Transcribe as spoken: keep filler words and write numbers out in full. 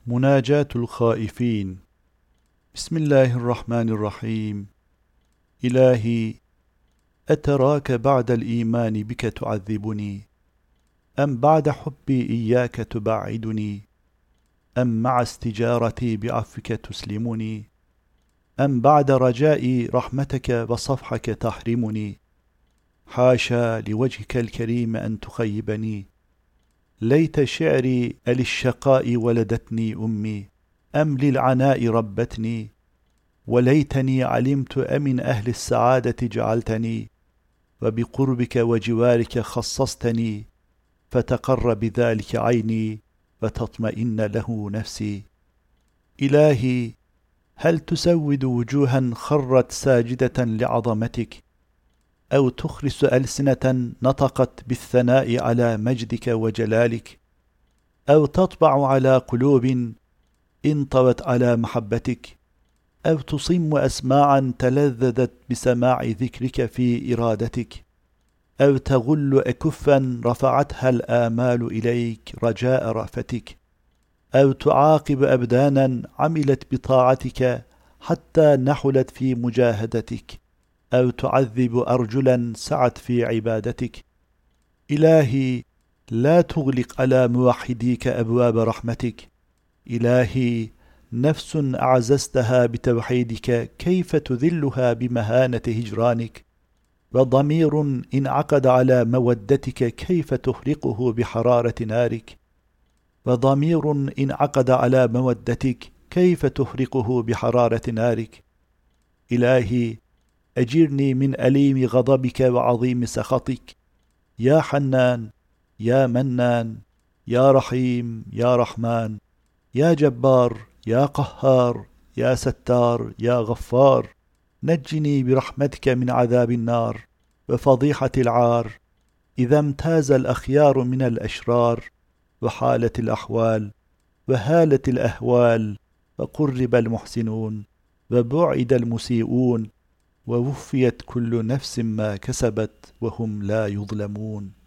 مناجاة الخائفين. بسم الله الرحمن الرحيم. إلهي، أتراك بعد الإيمان بك تعذبني، أم بعد حبي إياك تبعدني، أم مع استجارتي بعفوك تسلمني، أم بعد رجائي رحمتك وصفحك تحرمني؟ حاشا لوجهك الكريم أن تخيبني. ليت شعري أللشقاء ولدتني أمي، أم للعناء ربتني؟ وليتني علمت أمن أهل السعادة جعلتني، وبقربك وجوارك خصصتني، فتقر بذلك عيني وتطمئن له نفسي. إلهي، هل تسود وجوها خرت ساجدة لعظمتك، أو تخرس ألسنة نطقت بالثناء على مجدك وجلالك، أو تطبع على قلوب انطوت على محبتك، أو تصم أسماعا تلذذت بسماع ذكرك في إرادتك، أو تغل أكفا رفعتها الآمال إليك رجاء رأفتك، أو تعاقب أبدانا عملت بطاعتك حتى نحلت في مجاهدتك، أو تعذب أرجلا سعت في عبادتك. إلهي، لا تغلق على موحديك أبواب رحمتك. إلهي، نفس أعززتها بتوحيدك كيف تذلها بمهانة هجرانك؟ وضمير انعقد على مودتك كيف تحرقه بحرارة نارك؟ وضمير انعقد على مودتك كيف تحرقه بحرارة نارك؟ إلهي، أجرني من أليم غضبك وعظيم سخطك. يا حنان، يا منان، يا رحيم، يا رحمن، يا جبار، يا قهار، يا ستار، يا غفار، نجني برحمتك من عذاب النار وفضيحة العار، إذا امتاز الأخيار من الأشرار، وحالت الأحوال، وهالت الأهوال، وقرب المحسنون، وبعد المسيئون، ووفيت كل نفس ما كسبت وهم لا يظلمون.